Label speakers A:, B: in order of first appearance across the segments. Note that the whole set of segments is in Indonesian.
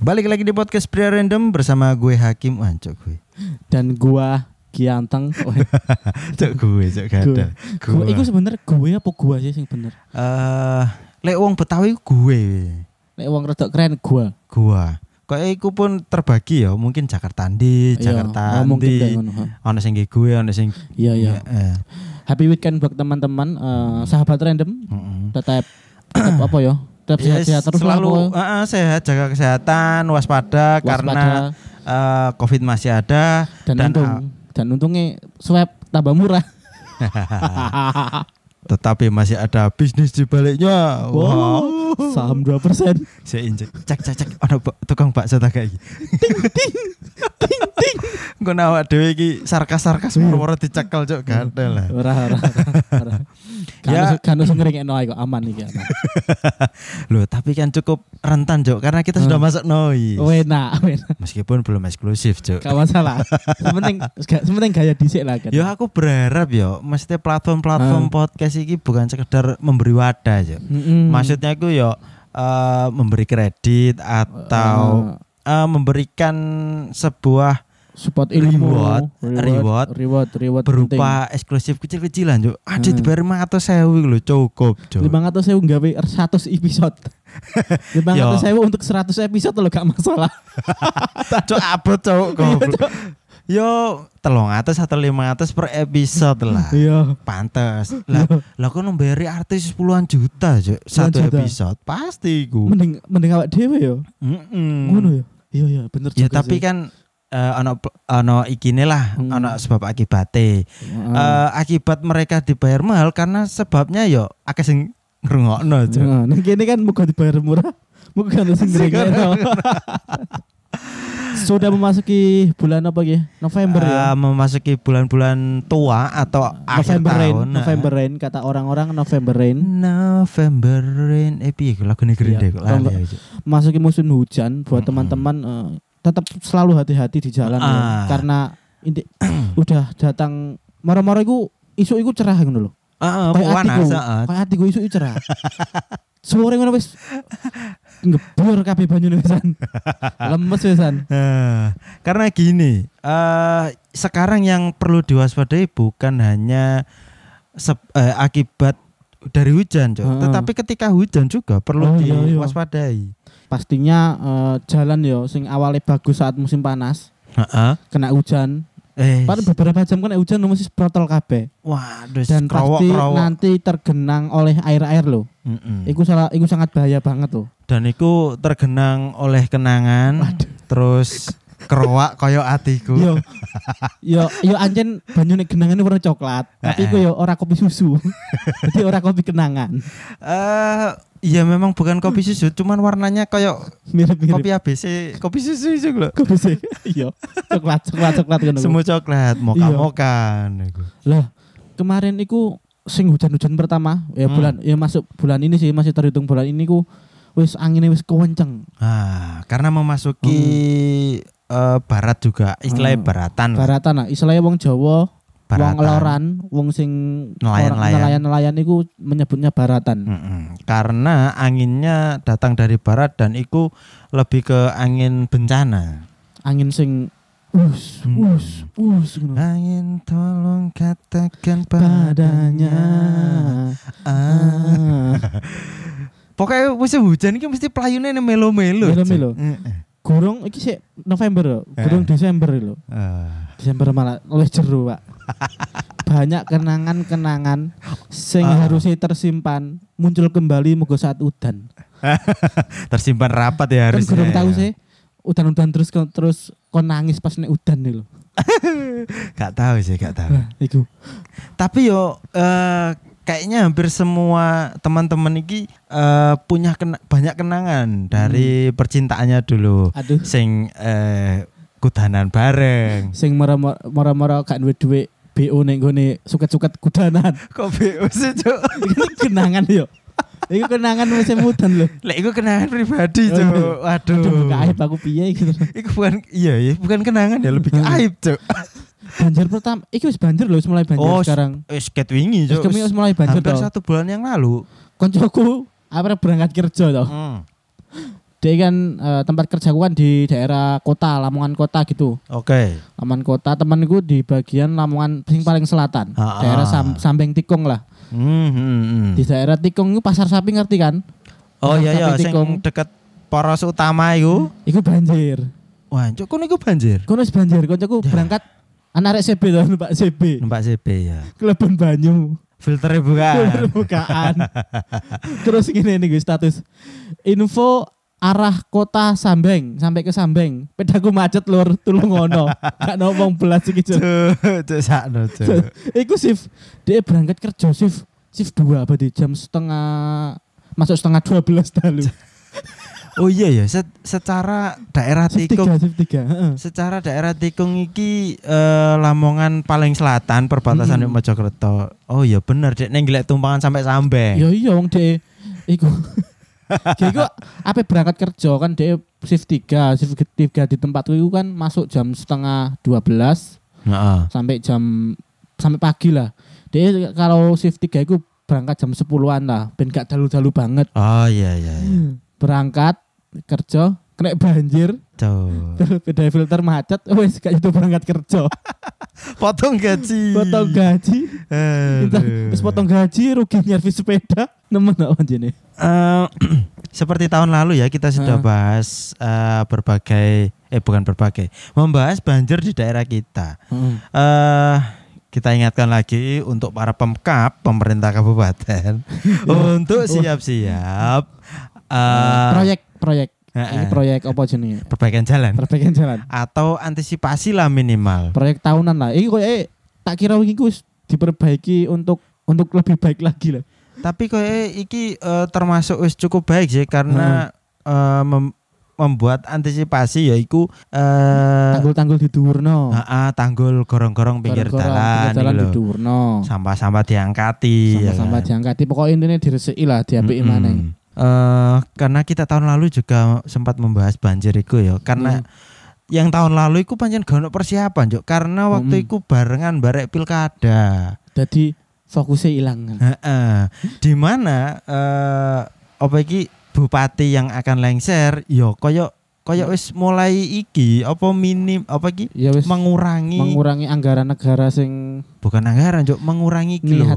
A: Balik lagi di podcast Pria Random bersama gue Hakim Wancok gue.
B: Dan gua Gianteng.
A: Cok gue, cok gada.
B: Gue iku sebenernya gue apa gua sih sing bener?
A: Lek wong Betawi gue.
B: Lek wong rada keren gua.
A: Kayak iku pun terbagi ya, mungkin Jakarta ndi, Jakarta ndi. Ono sing gue, ono sing
B: iya. Happy weekend buat teman-teman sahabat random. Tetap apa ya? Tetap sehat-sehat terus
A: selalu sehat, jaga kesehatan, waspada. Karena COVID masih ada
B: dan untungnya swab tambah murah.
A: Tetapi masih ada bisnis di baliknya.
B: Wow. Saham 2%.
A: Saya injek. Cek. Ada tukang bakso tak kayak ting. Engko awak dhewe iki sarkas-sarkas moro-moro dicekel cok gatel lah.
B: Ora. Kan usah ngeringekno ae kok aman iki aman.
A: Loh, tapi kan cukup rentan cok karena kita sudah masuk noise.
B: Enak.
A: Meskipun belum eksklusif cok.
B: Gak masalah. Sementing gaya dhisik lah kan.
A: Ya aku berharap yo mesti platform podcast iki bukan sekedar memberi wadah cok. Maksudnya aku yo memberi kredit atau memberikan sebuah
B: support ilmu
A: reward berupa eksklusif kecil-kecilan Cuk. Ada dibayar 500.000 lho cukup Cuk.
B: 500.000 gawe 100 episode. 500.000 untuk 100 episode lho gak masalah.
A: Cuk abot Cuk. Yo 300 atau 500 per episode lah.
B: Iya.
A: Pantes. Lah kok nambari artis puluhan juta Cuk. Satu episode pasti iku.
B: Mending awak dhewe yo. Ngono ya. Iya bener juga.
A: Ya tapi kan ono ikine lah, ono sebab akibate. Akibat mereka dibayar mahal karena sebabnya yo akeh sing ngrungokno.
B: Nah, kene kan muga dibayar murah, muga kan sing ngrungokno. Sudah memasuki bulan apa ya? November ya.
A: Memasuki bulan-bulan tua atau akhir tahun.
B: November rain kata orang-orang November rain.
A: Piye lagu negeri kok lali aja.
B: Masuki musim hujan buat teman-teman tetap selalu hati-hati di jalan ya. Karena udah datang maro-maro isu iku cerah ngono lho.
A: Panas.
B: Kayak atiku isu cerah. Sore ngono wis ngebur kabeh banyune wisan. Lemes wisan.
A: Karena gini, sekarang yang perlu diwaspadai bukan hanya akibat dari hujan, tetapi ketika hujan juga perlu diwaspadai.
B: Pastinya jalan yo sing awalnya bagus saat musim panas. Kena hujan. Pada beberapa jam kena hujan mesti protol kabeh.
A: Waduh,
B: dan pasti nanti tergenang oleh air-air loh. Iku sangat bahaya banget loh. Dan
A: iku tergenang oleh kenangan. Terus kerowak koyo atiku. Yo
B: anjen banyune genangane warna coklat. Tapi iku yo ora kopi susu. Jadi ora kopi kenangan.
A: Iya memang bukan kopi susu, cuman warnanya kayak
B: mirip-mirip
A: kopi ABC, kopi susu itu lho.
B: Kopi susu. Iya. Coklat kan.
A: Semua coklat, moka-moka niku.
B: Lah, kemarin iku sing hujan-hujan pertama, ya masuk bulan ini sih, masih terhitung bulan ini ku wis anginnya wis kenceng.
A: Karena memasuki barat juga, istilahnya baratan
B: lah. Istilahnya wong Jawa baratan. Wong loran, wong sing nelayan iku menyebutnya baratan.
A: Karena anginnya datang dari barat dan iku lebih ke angin bencana.
B: Angin sing
A: Angin tolong katakan padanya. Pokoknya musim hujan iki mesti pelayune melo-melo.
B: Gurung iki sik November lho, gurung Desember lho. Desember malah oleh jeru, Pak. Banyak kenangan-kenangan sing harusnya tersimpan muncul kembali moga saat udan.
A: Tersimpan rapat ya harusnya.
B: Kan gurung tahu sih. Udan-udan terus kon nangis pas nek udan nih lho.
A: Gak tahu.
B: Iku.
A: Tapi yo kayaknya hampir semua teman-teman iki punya banyak kenangan dari percintaannya dulu.
B: Aduh.
A: Sing kudanan bareng.
B: Sing mara-mara gak duwe BO ning gone suket-suket kudanan.
A: Kok BO sih, Cuk?
B: Iki kenangan yo. Iku kenangan musim udan lho.
A: Lek iku kenangan pribadi, Cuk. Waduh.
B: Buka aib aku piye gitu.
A: Iku bukan kenangan ya, lebih ke aib, Cuk.
B: Banjir pertama, iki wis banjir lho, wis mulai banjir sekarang.
A: Wis ket wingi, Cuk.
B: Wis mulai banjir
A: hampir 1 bulan yang lalu.
B: Koncoku berangkat kerja toh. Dia kan tempat kerjaku kan di daerah kota, Lamongan kota gitu.
A: Oke.
B: Lamongan kota, temanku di bagian Lamongan sing paling selatan. Daerah Sambeng Tikung lah. Di daerah Tikung itu Pasar Sapi ngerti kan?
A: Oh iya sing deket poros utama iku.
B: Iku banjir.
A: Wah, cuk kono iku banjir.
B: Kono banjir, koncoku berangkat anak CB to, Numpak CB.
A: Numpak CB ya.
B: Kelebon banyu.
A: Filternya
B: bukaan. Terus gini nih status. Info arah kota Sambeng sampai ke Sambeng. Pedaku macet lur, tulung ngono. Gak ngomong belas iki, Cuk.
A: Cuk sakno, Cuk.
B: Iku shift dia berangkat kerja shift 2 berarti jam setengah masuk setengah 12 dalu.
A: Oh iya ya, secara daerah Tikung.
B: Shift 3.
A: Secara daerah Tikung iki Lamongan paling selatan perbatasan dengan Mojokerto. Oh iya bener, Dek ning golek tumpangan sampai Sambeng.
B: Ya iya wong Dek iku. Jadi kok apa berangkat kerja kan dia shift 3 di tempatku itu kan masuk jam setengah 12 sampai pagi lah. Dia kalau shift 3 itu berangkat jam 10-an lah, ben gak dalu-dalu banget.
A: Oh iya.
B: Berangkat kerja kena banjir. Beda filter macet, wes gak itu berangkat kerja.
A: Potong gaji.
B: Terus potong gaji, rugi nyervis sepeda. Nemen gak anjene?
A: Seperti tahun lalu ya kita sudah bahas membahas banjir di daerah kita. Kita ingatkan lagi untuk para pemkap pemerintah kabupaten untuk siap-siap
B: proyek. Ini proyek apa jenenge?
A: Perbaikan jalan atau antisipasi lah minimal.
B: Proyek tahunan lah. Iki koyo tak kira iki wis diperbaiki untuk lebih baik lagi lah.
A: Tapi koyo iki termasuk wis cukup baik sih karena membuat antisipasi yaiku
B: tanggul-tanggul diduwurno.
A: Tanggul gorong-gorong pinggir dalan
B: diduwurno.
A: Sampah-sampah diangkati.
B: Sampah-sampah diangkati. Pokoknya intinya diresiki lah, diapiki maneh.
A: Karena kita tahun lalu juga sempat membahas banjir iku ya. Karena yang tahun lalu iku pancen gak ono persiapan, Juk. Karena waktu iku barengan barek pilkada.
B: Jadi fokusnya hilang.
A: Di mana apa iki bupati yang akan lengser ya koyo wis mulai iki apa minim apa iki
B: ya mengurangi anggaran negara sing
A: bukan anggaran, Juk, mengurangi iki lho.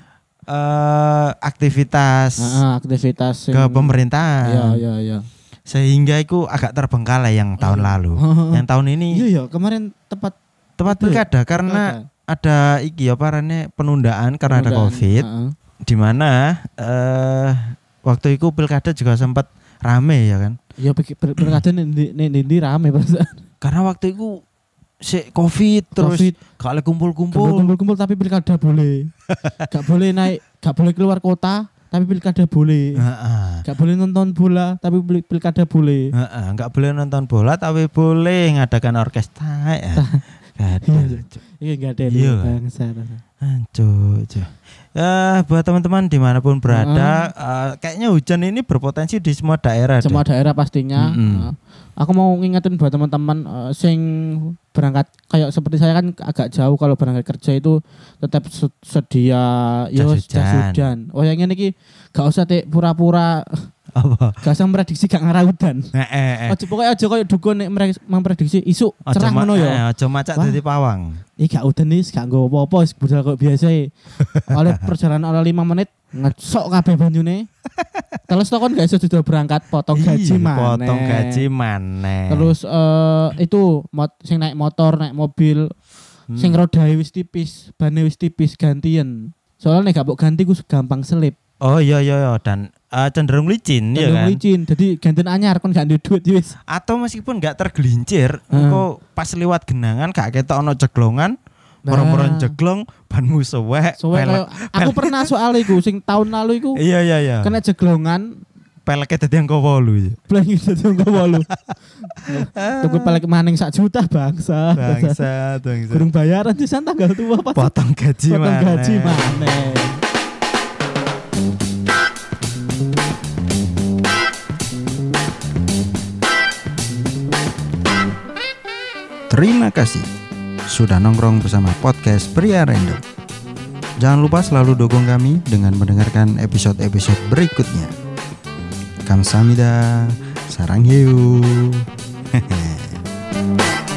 A: Aktivitas ke pemerintahan.
B: Iya.
A: Sehingga itu agak terbengkalai yang tahun lalu. Yang tahun ini
B: iya kemarin tepat
A: pilkada karena ada iki penundaan karena ada Covid. Di mana waktu itu pilkada juga sempat rame ya kan.
B: Iya pilkada ini rame perasaan.
A: Karena waktu itu Covid terus kalau kumpul
B: tapi pilkada boleh. Gak boleh naik, gak boleh keluar kota tapi pilkada boleh. Gak boleh nonton bola tapi pilkada boleh.
A: Gak boleh nonton bola tapi boleh ngadakan orkestra ya.
B: Iya gak ada bangsa.
A: Buat teman-teman dimanapun berada, kayaknya hujan ini berpotensi di semua daerah.
B: Semua daerah pastinya. Aku mau ngingetin buat teman-teman sing berangkat kayak seperti saya kan agak jauh, kalau berangkat kerja itu tetap sedia jas hujan. Oh yang ini gak usah pura-pura
A: apa?
B: Gak usah memprediksi gak ngarah udan. Pokoknya aja kayak dukun memprediksi isu cerah ngono ya.
A: Aja macak dadi pawang.
B: Gak udan nih, gak nggo apa-apa, budal kok biasa. Oleh perjalanan oleh 5 menit ngesok kabeh banyune. Terus kon gak iso sudah berangkat potong gaji maneh. Terus itu sing naik motor, naik mobil, sing rodae wis tipis, bane wis tipis gantian. Soalnya gak mbok ganti ku gampang selip.
A: Oh iya dan cenderung licin ya kan.
B: Licin. Jadi gantian anyar kon gak duwe duit wis.
A: Atau meskipun gak tergelincir, engko pas lewat genangan gak ketok ono jeglongan. Orang-orang jeglong banmu suwek.
B: Aku pernah soal iku sing tahun lalu iku.
A: Iya.
B: Kena jeglongan
A: peleke dadi angka 8.
B: Peleke dadi angka 8. Tuku pelek maning 1 juta bangsa. Kurang bayaran pisan tanggal tua pas.
A: Potong gaji maneh. Terima kasih sudah nongkrong bersama podcast Pria Random. Jangan lupa selalu dukung kami dengan mendengarkan episode-episode berikutnya. Kamsahamnida. Sarang hiu.